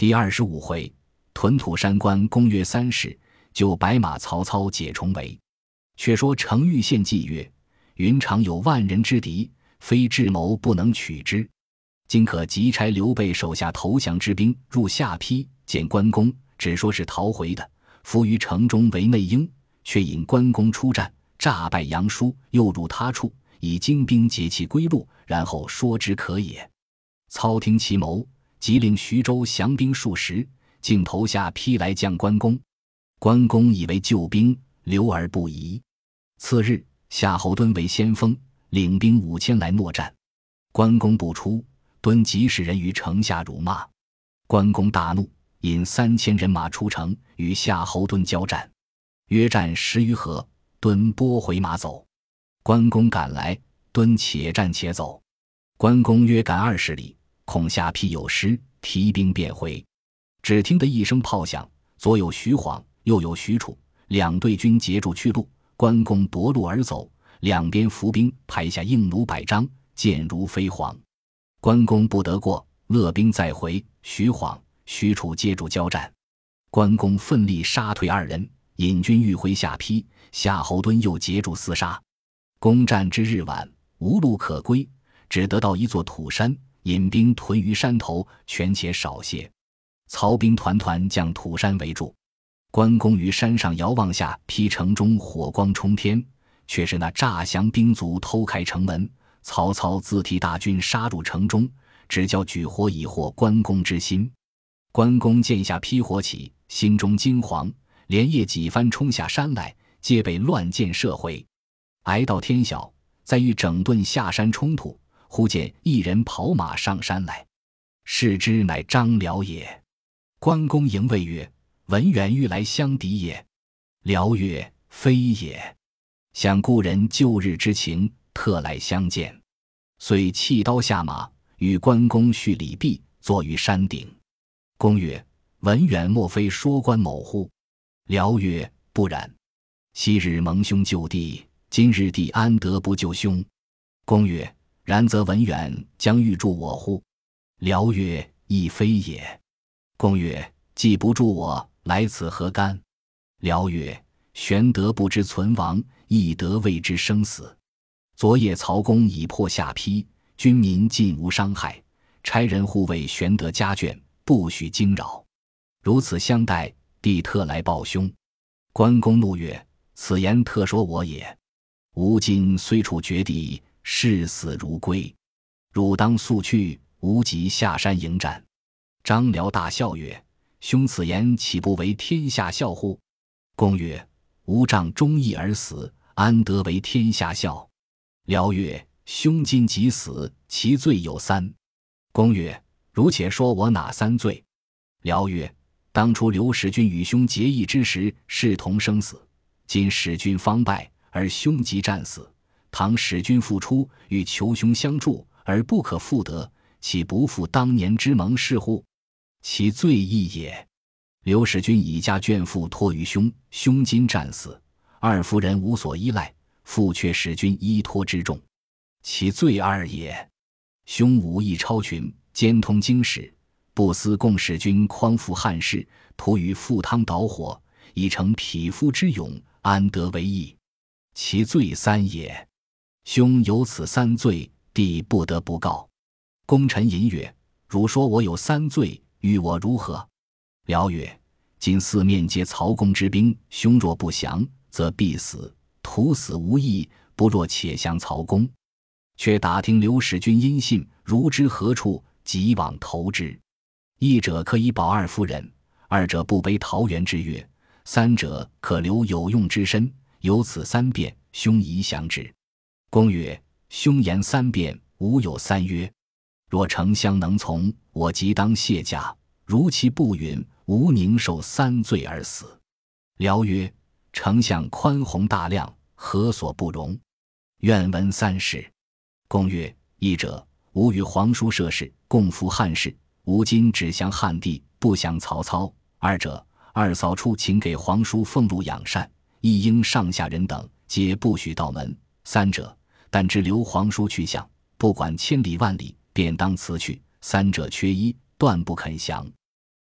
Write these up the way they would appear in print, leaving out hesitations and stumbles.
第25回，屯土山关公约30，就白马曹操解重围。却说程昱献计曰：云长有万人之敌，非智谋不能取之。今可急差刘备手下投降之兵入下邳，见关公，只说是逃回的，伏于城中为内应，却引关公出战，诈败杨叔，诱入他处，以精兵截其归路，然后说之可也。操听其谋，即令徐州降兵数十，竟投下邳来降关公。关公以为救兵，留而不疑。次日，夏侯惇为先锋，领兵5000来搦战。关公不出，惇即使人于城下辱骂。关公大怒，引3000人马出城，与夏侯惇交战。约战10余合，惇拨回马走。关公赶来，惇且战且走。关公约赶20里，恐下邳有失，提兵便回。只听得一声炮响，左有徐晃，右有许褚，两队军截住去路。关公夺路而走，两边伏兵排下硬弩100张，箭如飞蝗。关公不得过，勒兵再回，徐晃、许褚接住交战。关公奋力杀退2人，引军欲回下邳，夏侯惇又截住厮杀。攻战之日晚，无路可归，只得到一座土山，引兵屯于山头，权且少些。曹兵团团将土山围住。关公于山上遥望下邳城中火光冲天，却是那诈降兵卒偷开城门。曹操自提大军杀入城中，只叫举火以惑关公之心。关公见下邳火起，心中惊惶，连夜几番冲下山来，皆被乱箭射回。挨到天晓，再欲整顿下山冲突，忽见一人跑马上山来，视之乃张辽也。关公迎谓曰：文远欲来相敌也。辽曰：非也，想故人旧日之情，特来相见。遂弃刀下马，与关公叙礼毕，坐于山顶。公曰：文远莫非说关某乎？辽曰：不然。昔日蒙兄救弟，今日弟安得不救兄？公曰：然则文远将欲助我乎？辽曰：亦非也。公曰：既不助我，来此何干？辽曰：玄德不知存亡，亦得未知生死。昨夜曹公已破下邳，军民尽无伤害，差人护卫玄德家眷，不许惊扰。如此相待，弟特来报兄。关公怒曰：此言特说我也。吾今虽处绝地，视死如归，汝当速去，吾即下山迎战。张辽大笑曰：兄此言岂不为天下笑乎？公曰：吾仗忠义而死，安得为天下笑？辽曰：兄今即死，其罪有3。公曰：汝且说我哪3罪？辽曰：当初刘使君与兄结义之时，视同生死，今使君方败，而兄即战死。倘使君复出，欲求兄相助，而不可复得，岂不负当年之盟誓乎？其罪亦也。刘使君以家眷父托于兄，兄今战死，二夫人无所依赖，父却使君依托之重，其罪2也。兄武艺超群，兼通经史，不思共使君匡扶汉室，徒于赴汤蹈火，以成匹夫之勇，安得为义？其罪3也。兄有此3罪，弟不得不告。公臣吟曰：汝说我有3罪，与我如何？辽曰：今四面皆曹公之兵，兄若不降，则必死，徒死无益，不若且降曹公。却打听刘使君音信，如知何处，即往投之。一者可以保二夫人，二者不背桃园之约，三者可留有用之身。有此3变，兄宜降之。公曰：兄言3变，吾有3约。若丞相能从，我即当卸甲；如其不允，吾宁受3罪而死。辽曰：丞相宽宏大量，何所不容？愿闻3事。公曰：一者，吾与皇叔涉世，共扶汉室，吾今只降汉帝，不降曹操。二者，二嫂处请给皇叔俸禄养善，一应上下人等皆不许到门。三者，但知留皇叔去向，不管千里万里，便当辞去。3者缺一，断不肯降。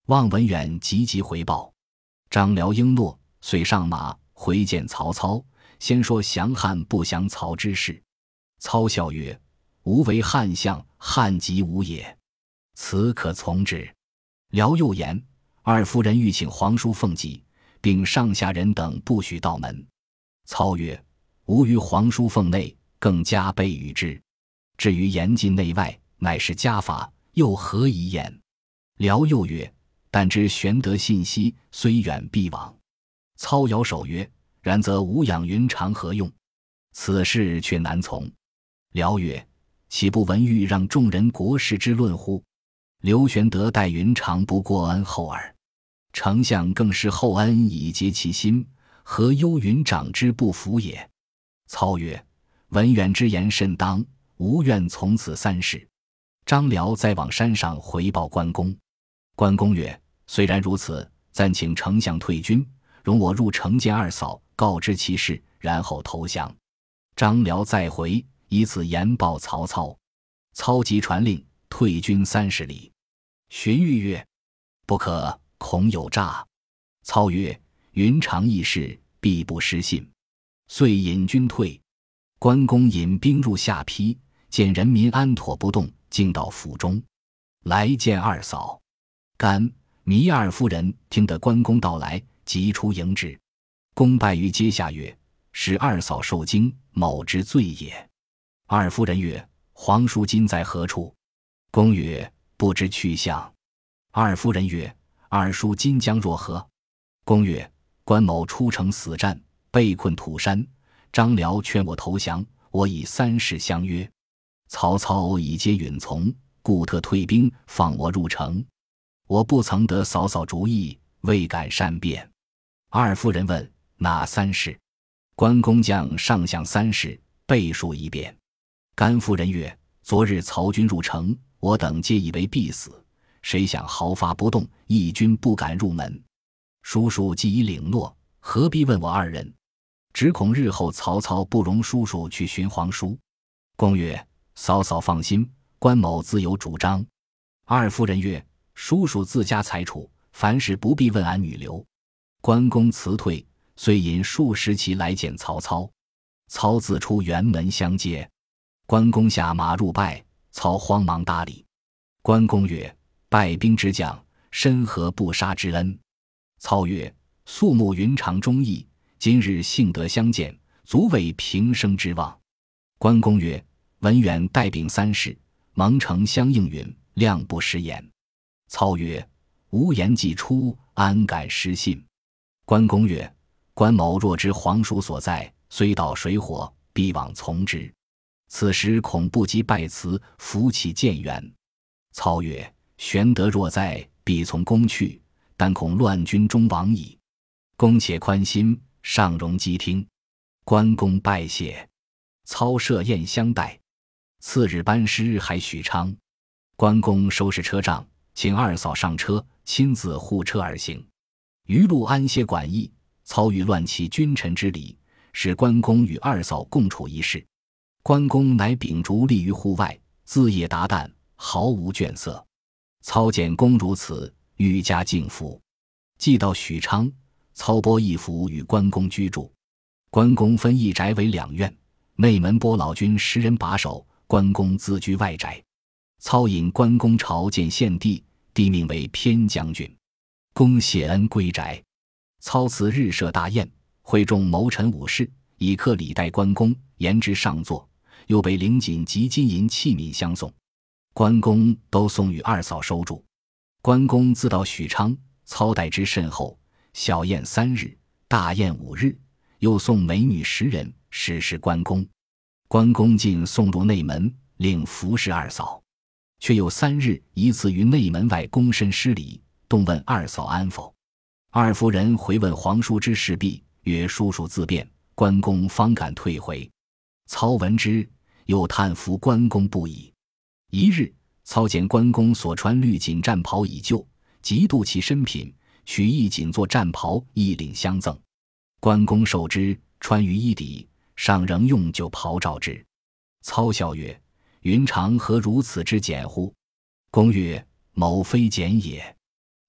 望文远急回报。张辽应诺，遂上马回见曹操，先说降汉不降曹之事。操笑曰：吾为汉相，汉即吾也，此可从之。辽又言：二夫人欲请皇叔奉疾，并上下人等不许到门。操曰：吾于皇叔奉内，更加倍与之。至于严禁内外，乃是家法，又何以言？辽又曰：但知玄德信息，虽远必往。操摇手曰：然则吾养云长何用？此事却难从。辽曰：岂不闻欲让众人国事之论乎？刘玄德待云长不过恩厚耳，丞相更是厚恩以结其心，何忧云长之不服也？操曰：文远之言甚当，吾愿从此三事。张辽再往山上回报关公。关公曰：虽然如此，暂请丞相退军，容我入城见二嫂，告知其事，然后投降。张辽再回，以此言报曹操。操即传令，退军30里。荀彧曰：不可，恐有诈。操曰：云长义士，必不失信。遂引军退。关公引兵入下邳，见人民安妥不动，径到府中，来见二嫂。甘、糜二夫人听得关公到来，即出迎之。公拜于阶下曰：使二嫂受惊，某之罪也。二夫人曰：皇叔今在何处？公曰：不知去向。二夫人曰：二叔今将若何？公曰：关某出城死战，被困土山，张辽劝我投降，我以3事相约。曹操已皆允从，故特退兵放我入城。我不曾得嫂嫂主意，未敢善辩。二夫人问：哪3事？关公将上相3事背述一遍。甘夫人曰：昨日曹军入城，我等皆以为必死，谁想毫发不动，义军不敢入门。叔叔既已领诺，何必问我二人？只恐日后曹操不容叔叔去寻皇叔。公曰：嫂嫂放心，关某自有主张。二夫人曰：叔叔自家裁处，凡事不必问俺女流。关公辞退，遂引数十骑来见曹操。操自出辕门相接。关公下马入拜，操慌忙搭理。关公曰：败兵之将，深何不杀之恩？操曰：素慕云长忠义，今日幸得相见，足为平生之望。关公曰：文远带秉3事，蒙丞相应允，谅不失言。操曰：无言既出，安敢失信？关公曰：关某若知皇叔所在，虽到水火，必往从之。此时恐不及拜辞，扶起建元。操曰：玄德若在，必从公去，但恐乱军中亡矣。公且宽心，上容机听。关公拜谢。操设宴相待。次日班师还许昌。关公收拾车仗，请二嫂上车，亲自护车而行。余路安歇馆驿，操欲乱其君臣之礼，使关公与二嫂共处一室。关公乃秉烛立于户外，自夜达旦，毫无倦色。操见公如此，愈加敬服。既到许昌，操拨一府与关公居住。关公分一宅为2院，内门拨老军10人把守，关公自居外宅。操引关公朝见献帝，帝命为偏将军。公谢恩归宅。操次日设大宴，会众谋臣武士，以客礼待关公，言之上座，又备领锦及金银器皿相送。关公都送与二嫂收住。关公自到许昌，操待之甚厚，小宴3日，大宴5日，又送美女10人，使是关公。关公尽送入内门，令服侍二嫂。却有3日一次于内门外躬身施礼，动问二嫂安否。二夫人回问皇叔之事毕，曰：叔叔自便。关公方敢退回。操闻之，又叹服关公不已。一日，操见关公所穿绿锦战袍已旧，极妒其身品，取一锦做战袍，一领相赠。关公受之，穿于衣底，上仍用旧袍罩之。操笑曰：云长何如此之简乎？公曰：某非简也。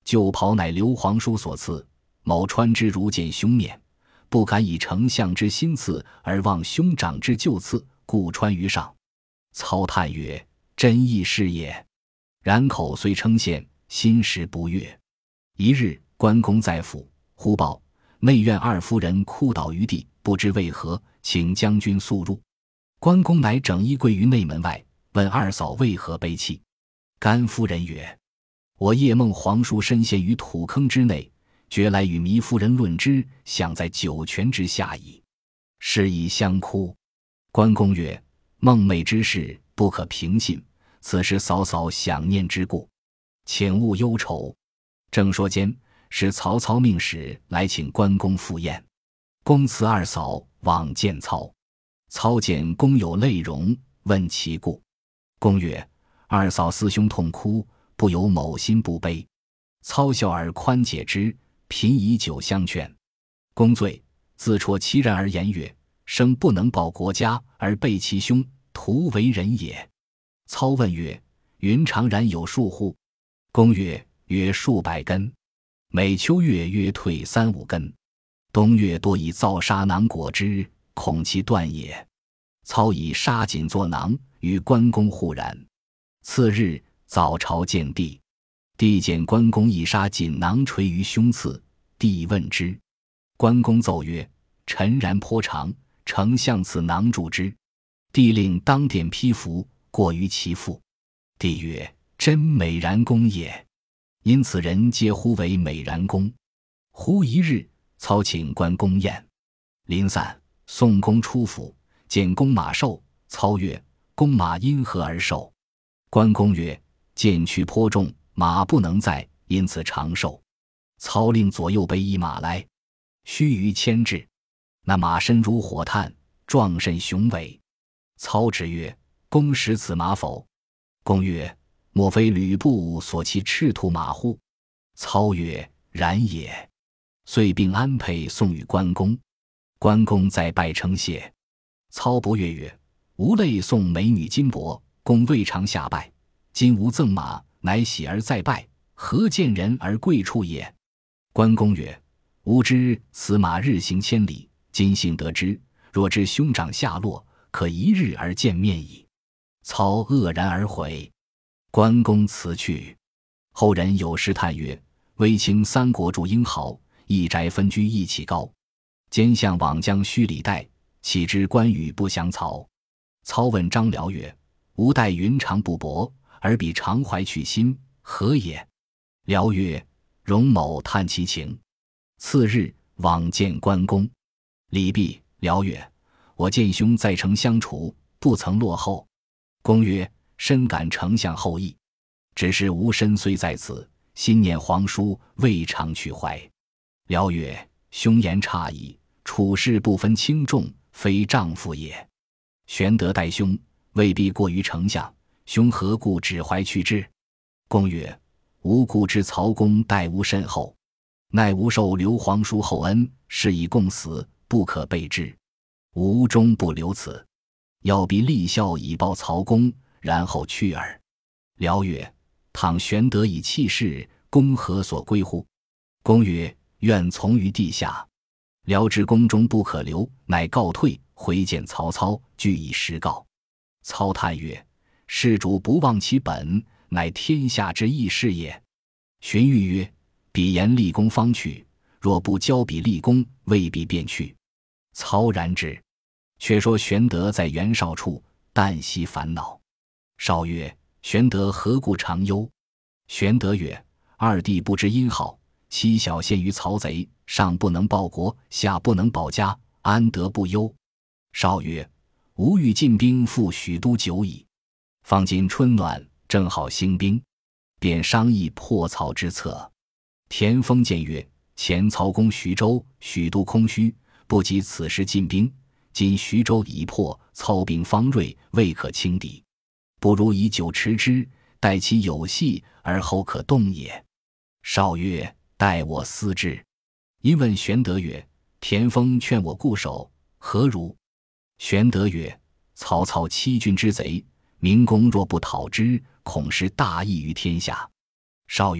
旧袍乃刘皇叔所赐，某穿之如见兄面，不敢以丞相之新赐，而望兄长之旧赐，故穿于上。操叹曰：真亦是也。然口虽称羡，心实不悦。一日，关公在府，忽报内院二夫人哭倒于地，不知为何，请将军速入。关公乃整衣跪于内门外，问二嫂为何悲泣。甘夫人曰：我夜梦皇叔身陷于土坑之内，觉来与糜夫人论之，想在九泉之下矣。是以相哭。关公曰：梦寐之事不可平信，此是嫂嫂想念之故，请勿忧愁。正说间，是曹操命使来请关公赴宴。公辞二嫂往见操。操见公有泪容，问其故。公曰：二嫂思兄痛哭，不由某心不悲。操笑而宽解之，频以酒相劝。公醉，自戳其然而言曰：生不能报国家，而背其兄，徒为人也。操问曰：云常然有数乎？公曰：约数百根，每秋月约退3-5根，冬月多以皂砂囊裹之，恐其断也。操以纱锦作囊，与关公互然。次日早朝见帝，帝见关公一纱锦囊垂于胸次，帝问之。关公奏曰：臣然颇长，丞相此囊助之。帝令当殿披服，过于其腹。帝曰：真美髯公也。因此人皆呼为美髯公。忽一日，操请关公宴。临散，宋公出府，见公马瘦。操曰：公马因何而瘦？关公曰：剑去颇重，马不能载，因此长寿。操令左右备一马来，须臾牵至。那马身如火炭，壮甚雄伟。操之曰：公识此马否？公曰：莫非吕布所骑赤兔马乎？操曰：然也。遂并安配送与关公。关公再拜称谢。操不悦曰：吾类送美女金帛，公未尝下拜，今无赠马，乃喜而再拜，何见人而贵处也？关公曰：吾知此马日行千里，今幸得之，若知兄长下落，可一日而见面矣。操愕然而回。关公辞去。后人有诗叹曰：威清三国筑英豪，一宅分居一起高。奸相往将须礼待，岂知关羽不降曹。操问张辽曰：吾待云长不薄，而彼常怀去心，何也？辽曰：容某探其情。次日往见关公。礼毕，辽曰：我见兄在城相处，不曾落后。公曰：深感丞相厚意，只是吾身虽在此，心念皇叔，未尝去怀。辽曰：兄言差矣，处事不分轻重，非丈夫也。玄德待兄，未必过于丞相，兄何故只怀去之？公曰：吾故知曹公待吾甚厚，奈吾受刘皇叔厚恩，是以共死，不可背之。吾终不留此，要必立孝以报曹公，然后去耳。辽曰：倘玄德以弃世，公何所归乎？公曰：愿从于地下。辽知宫中不可留，乃告退，回见曹操，据以实告。操叹曰：事主不忘其本，乃天下之义事也。荀彧曰：彼言立功方去，若不交彼立功，未必便去。操然之。却说玄德在袁绍处，旦夕烦恼。绍曰：玄德何故常忧？玄德曰：二弟不知因好，妻小陷于曹贼，上不能报国，下不能保家，安得不忧？绍曰：吾欲进兵赴许都久矣，方今春暖，正好兴兵，便商议破曹之策。田丰谏曰：前曹攻徐州，许都空虚，不及此时进兵，今徐州已破，操兵方锐，未可轻敌，不如以久持之，待其有隙，而后可动也。绍曰：待我思之。因问玄德曰：田丰劝我固守，何如？玄德曰：曹操欺君之贼，明公若不讨之，恐失大义于天下。绍曰：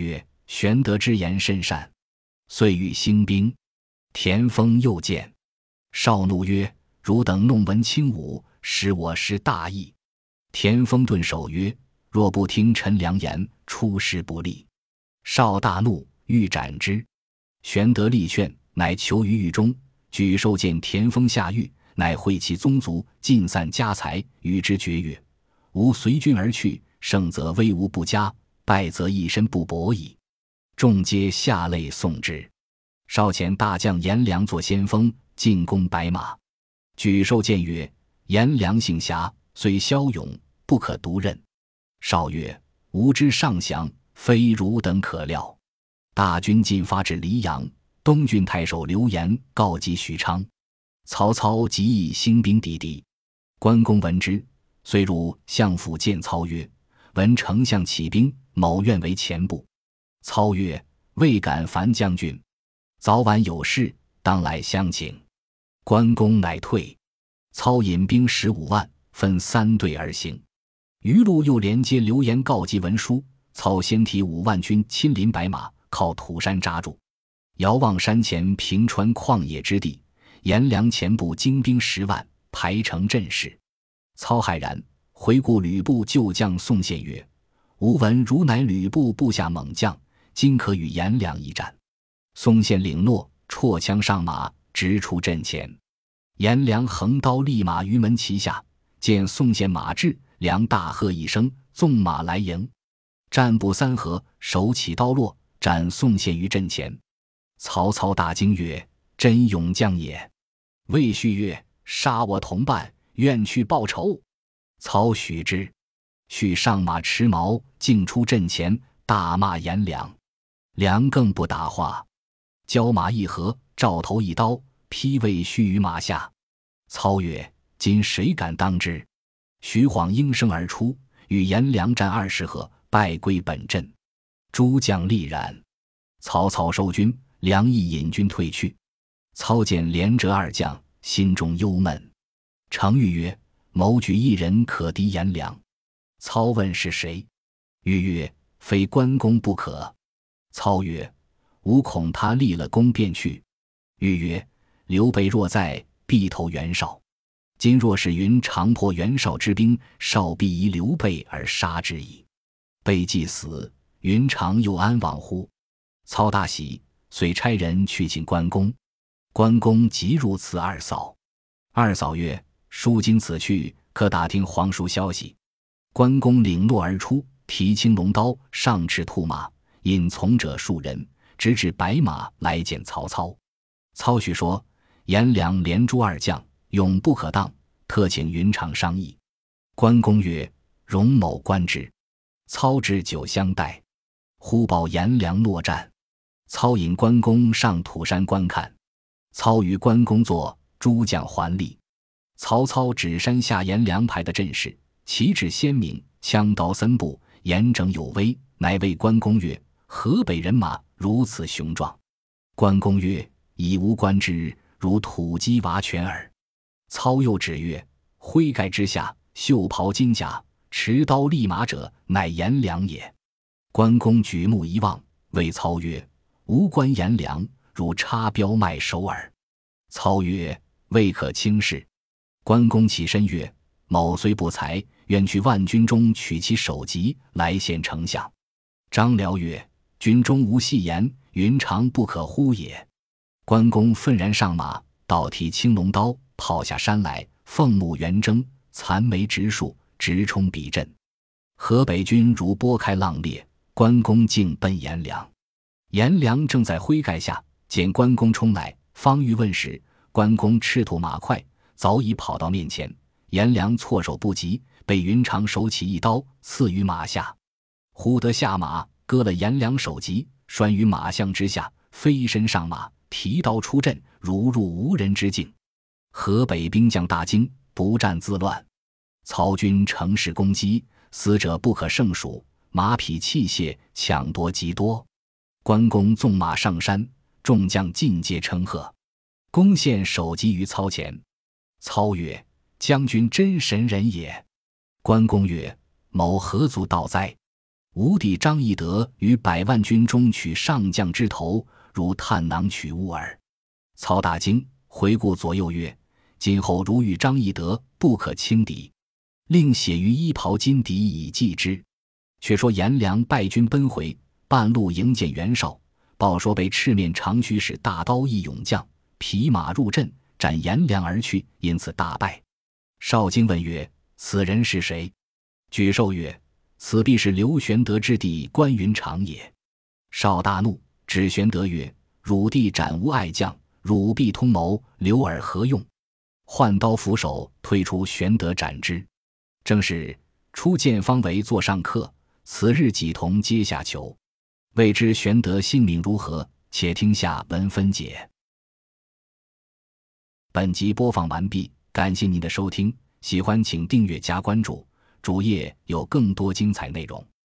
玄德之言甚善，遂欲兴兵。田丰又见，少怒曰：汝等弄文轻武，使我失大义。田丰顿首曰：若不听臣良言，出师不利。少大怒，欲斩之。玄德力劝，乃囚于狱中。举授见田丰下狱，乃会其宗族，尽散家财，与之绝曰：吾随军而去，胜则威武不佳，败则一身不保矣。众皆下泪送之。少遣大将颜良作先锋，进攻白马。举授谏曰：颜良性侠，虽骁勇，不可独任。少曰：吾知上详，非汝等可料。大军进发至黎阳，东郡太守刘延告急许昌，曹操即以兴兵抵敌。关公闻之，遂入相府见操曰：闻丞相起兵，某愿为前部。操曰：未敢烦将军，早晚有事，当来相请。关公乃退。操引兵15万，分3队而行。余路又连接刘延告急文书，操先提5万军亲临白马，靠土山扎住。遥望山前平川旷野之地，颜良前部精兵10万，排成阵势。操骇然，回顾吕布旧将宋宪曰：吾闻汝乃吕布部下猛将，今可与颜良一战。宋宪领诺，绰枪上马，直出阵前。颜良横刀立马于门旗下，见宋宪马至，良大喝一声，纵马来迎。战不3合，手起刀落，斩宋宪于阵前。曹操大惊曰：真勇将也。魏续曰：杀我同伴，愿去报仇。操许之。续上马持矛，径出阵前，大骂颜良。良更不答话，交马一合，照头一刀，劈魏续于马下。操曰：今谁敢当之？徐晃应声而出，与颜良战20合，败归本阵。诸将厉然。曹操收军，良亦引军退去。操见连折2将，心中忧闷。程昱曰：谋举一人可敌颜良。操问是谁？昱曰：非关公不可。操曰：吾恐他立了功便去。昱曰：刘备若在，必投袁绍。今若是云长破袁绍之兵，绍必疑刘备而杀之矣。备既死，云长又安往乎？操大喜，遂差人去请关公。关公即入辞二嫂。二嫂曰：叔今此去，可打听皇叔消息。关公领诺而出，提青龙刀，上驰兔马，引从者数人，直至白马来见曹操。操许说：颜良连诛2将，勇不可当，特请云长商议。关公曰：容某观之。操置酒相待，忽报颜良诺战。操引关公上土山观看。操与关公坐，诸将环立。曹操指山下颜良排的阵势，旗帜鲜明，枪刀森布，严整有威，乃谓关公曰：河北人马如此雄壮。关公曰：以吾观之，如土鸡娃犬耳。操又指曰：灰盖之下，袖袍金甲，持刀立马者，乃颜良也。关公举目一望，谓操曰：吾观颜良，如插标卖首耳。操曰：未可轻视。关公起身曰：某虽不才，愿去万军中取其首级，来献丞相。张辽曰：军中无戏言，云长不可乎也。关公愤然上马，倒提青龙刀，跑下山来，凤目圆睁，残眉直竖，直冲彼阵。河北军如拨开浪裂，关公径奔颜良。颜良正在灰盖下，见关公冲来，方欲问时，关公赤兔马快，早已跑到面前。颜良措手不及，被云长手起一刀刺于马下。忽得下马，割了颜良首级，拴于马项之下，飞身上马，提刀出阵，如入无人之境。河北兵将大惊，不战自乱。曹军乘势攻击，死者不可胜数，马匹器械抢夺极多。关公纵马上山，众将尽皆称贺。公献首级于操前。操曰：将军真神人也。关公曰：某何足道哉？ 吴帝张翼德于100万军中取上将之头，如探囊取物耳。曹大惊，回顾左右曰：今后如遇张翼德，不可轻敌，令写于衣袍金敌以记之。却说颜良败军奔回，半路迎见袁绍，报说被赤面长须使大刀一勇将匹马入阵，斩颜良而去，因此大败。绍惊问曰：此人是谁？举寿曰：此必是刘玄德之弟关云长也。绍大怒，指玄德曰：汝弟斩无爱将，汝必通谋，留尔何用？换刀俯首，推出玄德斩之。正是初见方为座上客，此日几同阶下囚。未知玄德性命如何？且听下文分解。本集播放完毕，感谢您的收听，喜欢请订阅加关注，主页有更多精彩内容。